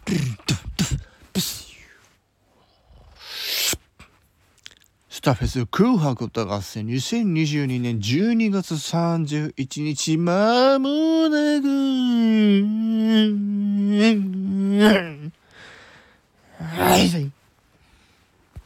スターフェス紅白歌合戦2022年12月31日まもなく